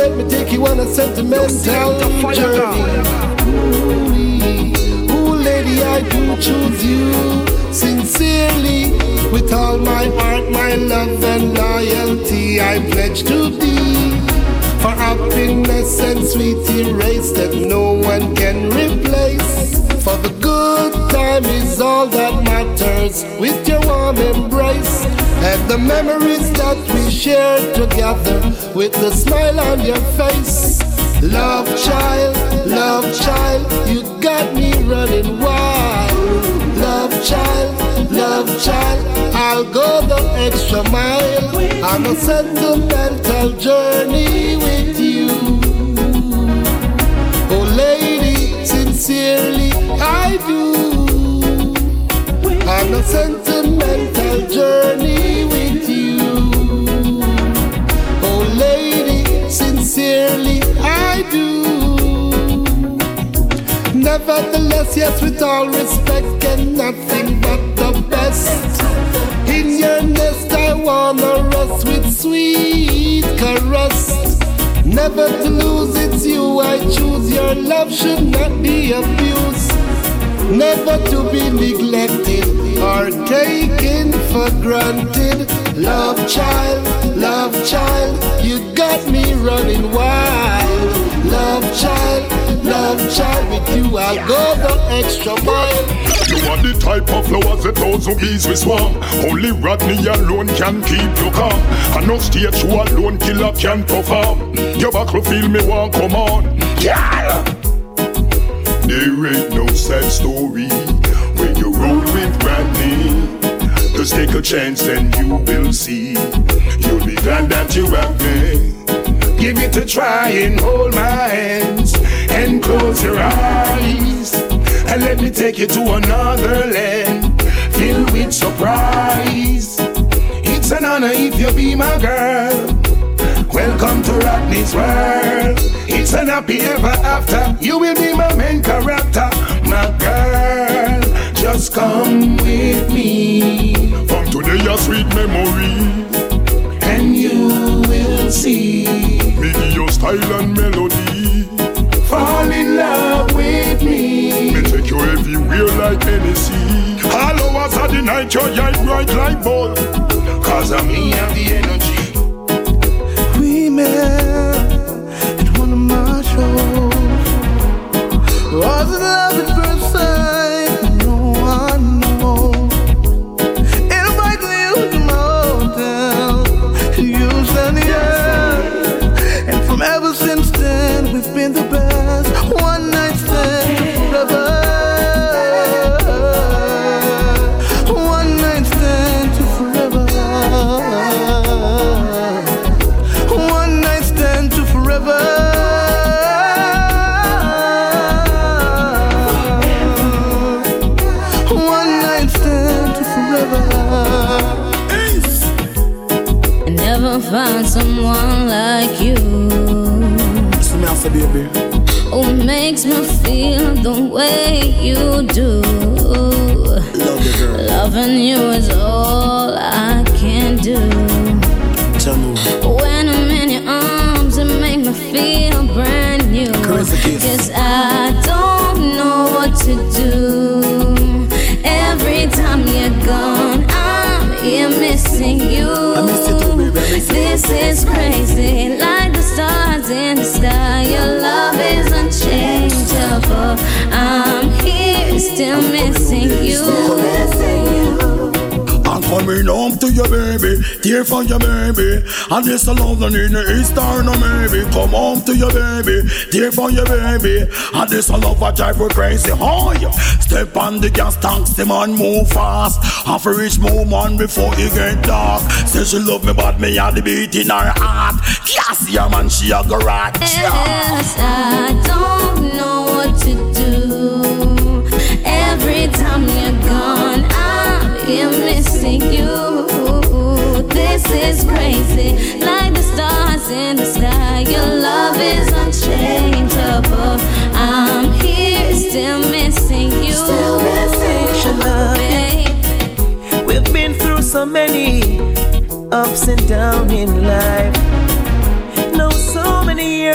let me take you on a sentimental journey. Ooh, lady, I do choose you sincerely. With all my heart, my love and loyalty, I pledge to thee. For happiness and sweet erase that no one can replace. For the good time is all that matters with your warm embrace. And the memories that we shared together with the smile on your face. Love child, you got me running wild. Love child, I'll go the extra mile on a sentimental journey with you. Oh lady, sincerely I do. On a sentimental journey with you. Oh lady, sincerely I do. Nevertheless, yes, with all respect and nothing but the best. In your nest I wanna rest with sweet caress. Never to lose, it's you I choose. Your love should not be abused. Never to be neglected or taken for granted. Love child, you got me running wild. Love child, with you I'll go the extra mile. You are the type of flowers that those who bees will swarm. Only Rodney alone can keep you calm. And no stage show alone killer can perform. Your buckle feel me want come on. Yeah. There ain't no sad story when you roll with Rodney. Just take a chance and you will see. You'll be glad that you have me. Give it a try and hold my hands and close your eyes. And let me take you to another land filled with surprise. It's an honor if you be my girl. Welcome to Rodney's world. It's an happy ever after. You will be my main character. My girl, just come with me. From today a sweet memory. And you will see me your style and melody. Fall in love with me. Me take you everywhere like Hennessy. All hours of the night your eye bright like ball. Cause of me have the energy. We met at one of my shows. Was it love at first sight? No one knows. Invite me to my hotel. You stand here. And from ever since then, we've been the best. One night stand forever. One night stand to forever. One night stand to forever. One night stand to forever. I never found someone like you. Baby, who makes me feel the way you do. Love you, girl. Loving you is all I can do. Tell me. When I'm in your arms, it make me feel brand new. Yes, I don't know what to do. Every time you're gone, I'm here missing you. I miss you too, baby. This is crazy, like the stars in the sky. Your love is unchangeable. I'm here, still missing you. I'm coming home to you, baby. Tear for you, baby. And this a love in the Eastern, maybe. Come home to you, baby. Tear for you, baby. And this a love I drive her crazy. Oh, yeah. Step on the gas tanks, the man move fast. Have a rich woman before it get dark. Say she love me, but me had the beat in her heart. Yes, yeah, man, she a garage. Yes, I don't know what to do. Every time you're gone, I'm here missing you. This is crazy, like the stars in the sky. Your love is unchangeable. I'm here, still missing you. Still missing you. We've been through so many ups and downs in life. Know so many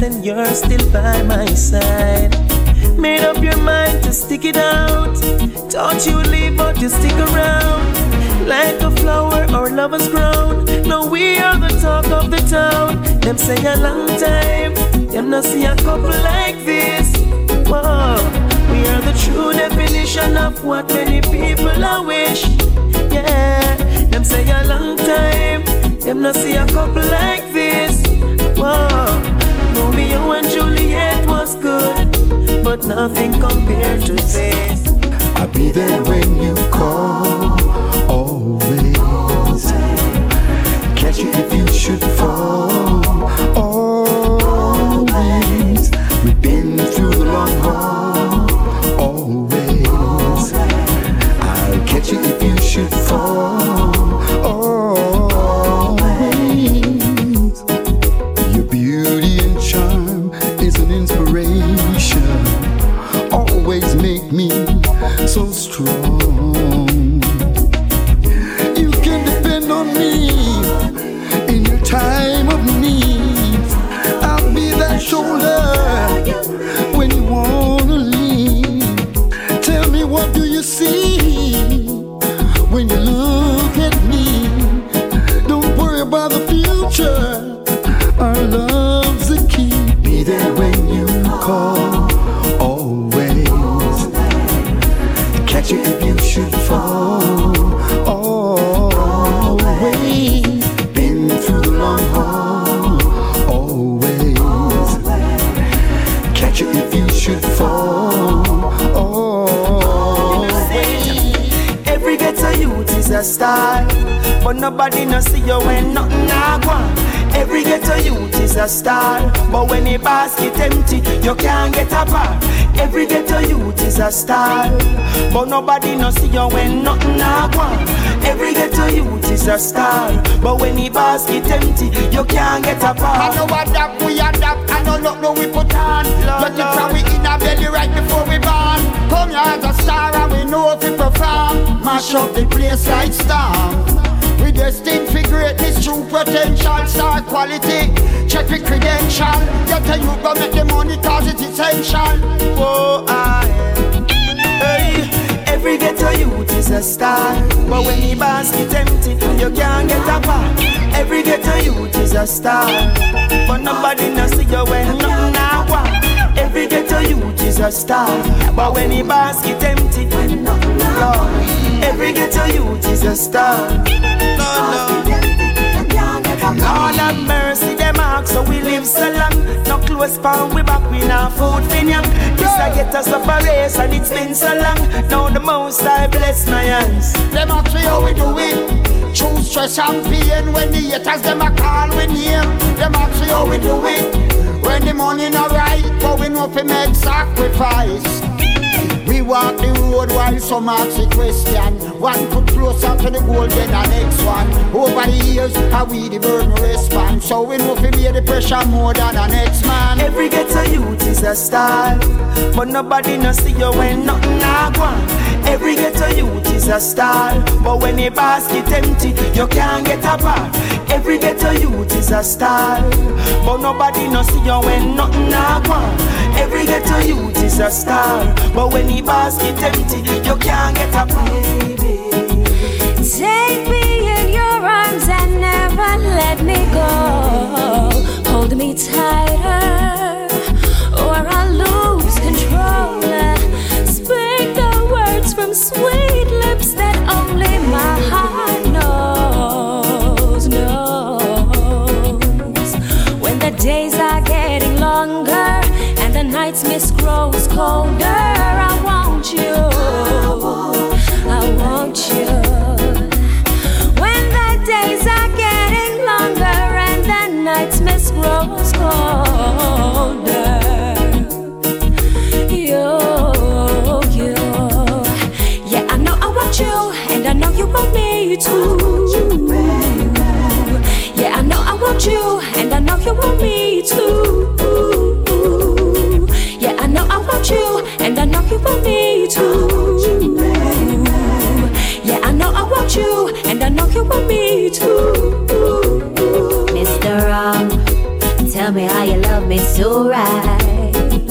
and you're still by my side. Made up your mind to stick it out. Thought you'd leave, but you stick around. Like a flower, our love has grown. Now we are the talk of the town. Them say a long time, them not see a couple like this. Whoa, we are the true definition of what many people I wish. Yeah, them say a long time, them not see a couple like this. Whoa, Romeo and Juliet was good, but nothing compared to this. I'll be there when you call, always. Catch you if you should fall, always. We've been through the long haul, always. I'll catch you if you should fall, always. Your beauty and charm is an inspiration. Always make me so strong. You can depend on me in your time of need. I'll be that shoulder when you wanna leave. Tell me, what do you see when you look at me? Don't worry about the future. Our love's the key. Be there when you call, always. Catch you if you should fall, always. Been through the long haul, always. Catch you if you should fall, always. Every ghetto youth is a star, but nobody no see you when nothing a go. Every ghetto youth is a star, but when the basket empty, you can't get a bar. Every ghetto youth is a star, but nobody no see you when nothing a go. Every ghetto youth is a star, but when the basket empty, you can't get a bar. I know adapt, we adapt, I know look no we put on. But the time we in our belly right before we born. Come here as a star and we know if we perform. Mash up the place like storm. We destined for greatness, true potential, star quality. Check the credential. Get a you go make the money cause it's essential. Oh, hey. Every ghetto youth is a star, but when the basket empty, you can't get a bar. Every ghetto youth is a star, but nobody no see you when nothing a go. Every ghetto youth is a star, but when the basket empty, Lord, every ghetto youth is a star. Lord have mercy, them ask so we live so long. No close pound, we back, we now food fin young. This I get us up a race and it's been so long. Now the most I bless my hands. Them ask me how we do it. Choose stress and pain. When the haters them a call we name. Them ask me how we do it. When the money not right, but we know fi make sacrifice. We walk the road while some ask the question. One put closer to the goal than the next one. Over the years, how we the burden respond. So we know fi bear the pressure more than the next man. Every ghetto youth is a star, but nobody no see you when nothing a go. Every ghetto youth is a star, but when the basket empty, you can't get a bar. Every ghetto youth is a star, but nobody no see you when nothing a go. Every ghetto youth is a star, but when the basket empty, you can't get a bar. Take me in your arms and never let me go. Hold me tighter, or I'll lose control. Speak the words from sweet lips that only my heart knows. When the days are getting longer and the nights mist grows colder, I want you. I want you. When the days are getting longer and the nights mist grows colder, you. Yeah, I know I want you, and I know you want me too. Yeah, I know I want you, and I know you want me too. Yeah, I know I want you, and I know you want me too. Yeah, I know I want you, and I know you want me too. Mr. Tell me how you love me so right,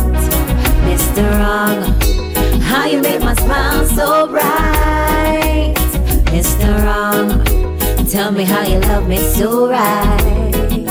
Mr. Wrong. How you make my smile so bright, Mr. Wrong. Tell me how you love me so right,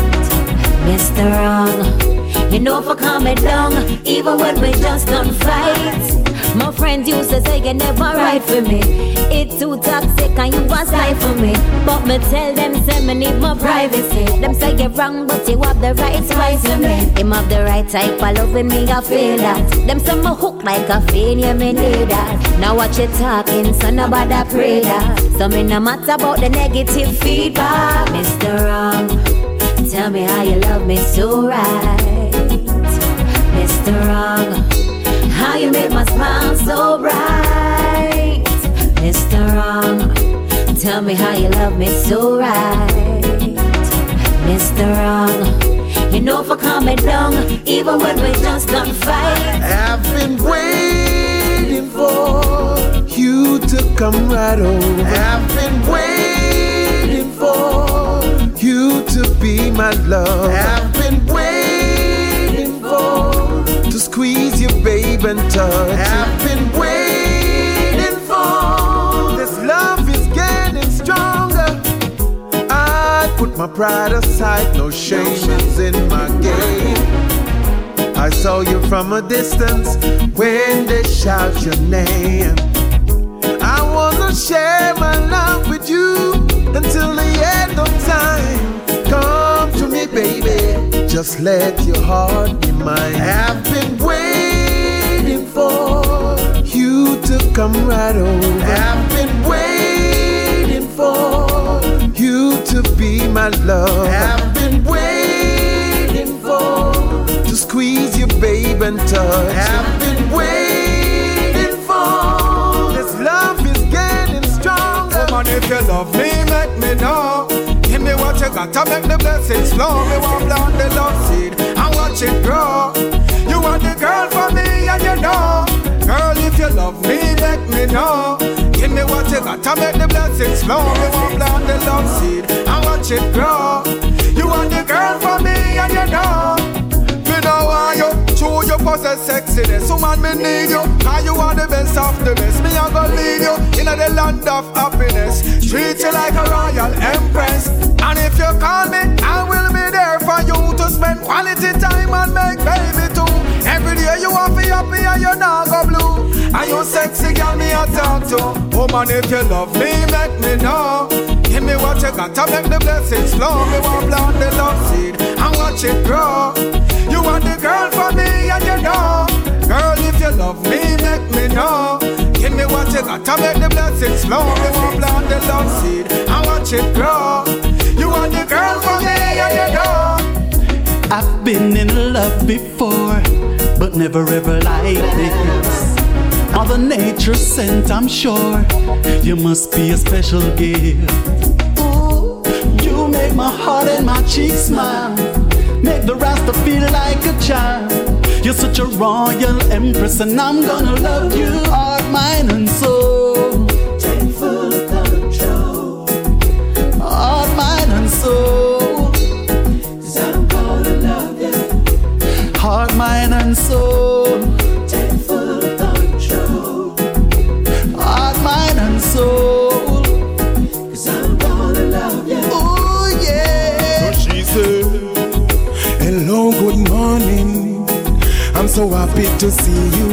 Mr. Wrong. You know for coming down, even when we just don't fight. My friends used to say you never right for me. It's too toxic and you was lie for me. But me tell them say me need more privacy. Them say you're wrong but you have the right spice for me. Him have the right type of love with me, I feel that. Them say me hook like a fiend, yeah me need that. Now what you talking, so nobody pray that. So me no matter about the negative feedback, Mr. Wrong. Tell me how you love me so right, Mr. Wrong. How you make my smile so bright, Mr. Wrong. Tell me how you love me so right, Mr. Wrong. You know for coming down, even when we just don't fight. I've been waiting for you to come right over. I've been waiting for you to be my love. I've been waiting for to squeeze you, babe, and touch. I've been waiting for this love is getting stronger. I put my pride aside, no shame is in my game. I saw you from a distance when they shout your name. I wanna share my love with you until the end of time. Come to me, baby, just let your heart be mine. I've been waiting for you to come right over. I've been waiting for you to be my love. I've been waiting for to squeeze you, babe, and touch. I've been waiting for this love is getting stronger. Woman, if you love me, let me know. Give me what you got to make the blessings flow. Me want plant the love seed and watch it grow. You are the girl for me and you know. Girl, if you love me, let me know. Give me what you got to make the blessings flow. Me want plant the love seed and watch it grow. You are the girl for me and you know. Me know why you true, you possess sexiness. Woman, me need you. And you are the best of the best. Me a go lead you in the land of happiness. Treat you like a royal empress. And if you call me, I will be there for you to spend quality time and make baby too. Every day you want to be happy and you not go blue. And you sexy girl me a talk to. Woman, if you love me, let me know. Give me what you got to make the blessings flow. Me want plant the love seed and watch it grow. You are the girl for me and you know. Girl, if you love me, let me know. Give me what you got to make the blessings flow. Me want plant the love seed and watch it grow. You are the girl for me and you know. I've been in love before, but never ever like this. Mother Nature sent, I'm sure. You must be a special gift. Ooh, you make my heart and my cheeks smile. Make the Rasta feel like a child. You're such a royal empress, and I'm gonna love you, heart, mind, and soul. Take full control, heart, mind, and soul. 'Cause I'm gonna love you, heart, mind, and soul. Take full control, heart, mind, and soul. 'Cause I'm gonna love you. Oh yeah. So she said, hello, good morning. I'm so happy to see you.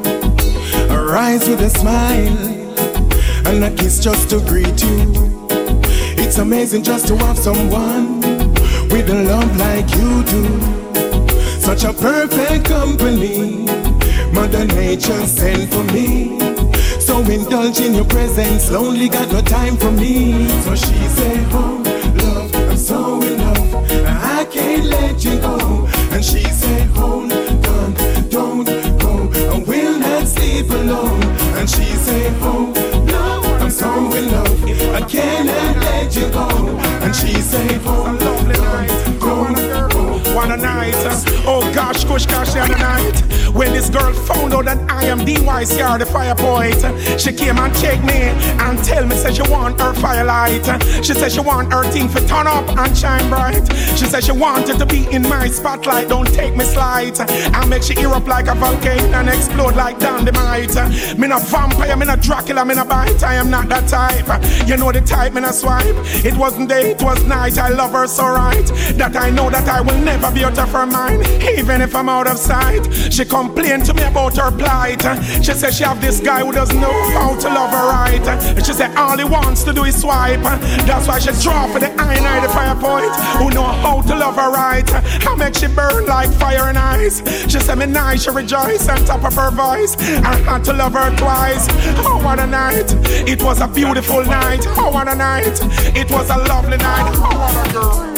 Arise with a smile and a kiss just to greet you. It's amazing just to have someone with a love like you do. Such a perfect company Mother Nature sent for me. So indulge in your presence, lonely got no time for me. So she said, oh love, I'm so in love, I can't let you go. And she said, hold on, don't go, I will not sleep alone. And she said, oh no, I'm so in love, I cannot let you go. And she said, hold on, don't go, what a night. Oh gosh, gosh, the other night. When this girl found out that I am DYCR, the fire poet, she came and checked me and tell me, say she want her firelight. She said she want her thing to turn up and shine bright. She said she wanted to be in my spotlight, don't take me slight. I make she erupt like a volcano and explode like dynamite. Me no vampire, me no Dracula, me no bite. I am not that type. You know the type, me no swipe. It wasn't day, it was night. I love her so right that I know that I will never be out of her mind, even if I'm out of sight. She complained to me about her plight. She said she have this guy who doesn't know how to love her right. She said all he wants to do is swipe. That's why she draw for the I the fire point, who know how to love her right. I make she burn like fire and ice. She said me nice, she rejoice on top of her voice. I had to love her twice. Oh what a night, it was a beautiful night. Oh what a night, it was a lovely night. Oh what a girl.